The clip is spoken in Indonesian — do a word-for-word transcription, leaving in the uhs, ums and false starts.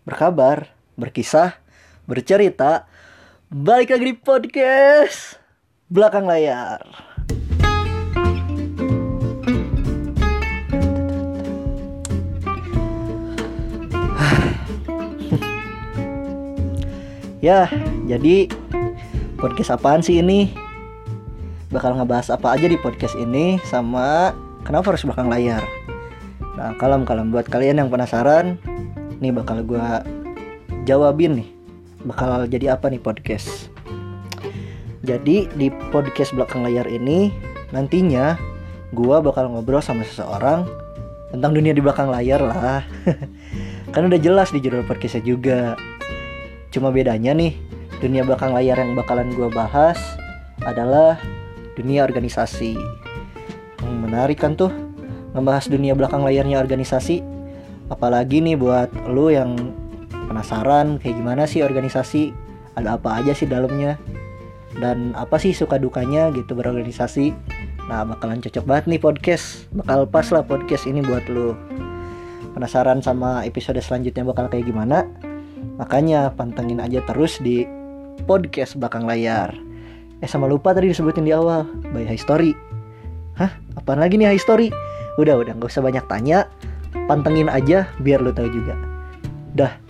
berkabar, berkisah, bercerita. Balik lagi di podcast Belakang Layar. Ya, jadi podcast apaan sih ini? Bakal ngebahas apa aja di podcast ini, sama kenapa harus belakang layar. Nah, kalem-kalem buat kalian yang penasaran, nih bakal gue jawabin nih. Bakal jadi apa nih podcast. Jadi di podcast belakang layar ini nantinya gue bakal ngobrol sama seseorang tentang dunia di belakang layar lah. Kan udah jelas di judul podcastnya juga. Cuma bedanya nih, dunia belakang layar yang bakalan gue bahas adalah dunia organisasi. hmm, Menarik kan tuh ngebahas dunia belakang layarnya organisasi. Apalagi nih buat lu yang penasaran kayak gimana sih organisasi, ada apa aja sih dalamnya, dan apa sih suka dukanya gitu berorganisasi. Nah, bakalan cocok banget nih podcast. Bakal pas lah podcast ini buat lu. Penasaran sama episode selanjutnya bakal kayak gimana? Makanya pantengin aja terus di podcast belakang layar. Eh sama lupa tadi disebutin di awal, by History. Hah? Apaan lagi nih History? Udah, udah gak usah banyak tanya. Pantengin aja biar lu tahu juga. Dah.